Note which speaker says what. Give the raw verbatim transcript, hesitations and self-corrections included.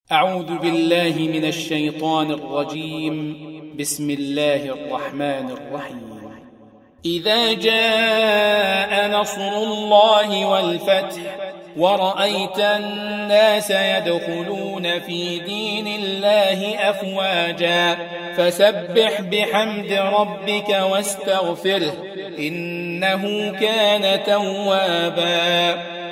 Speaker 1: أعوذ بالله من الشيطان الرجيم. بسم الله الرحمن الرحيم. إذا جاء نصر الله والفتح ورأيت الناس يدخلون في دين الله أفواجا فسبح بحمد ربك واستغفره إنه كان توابا.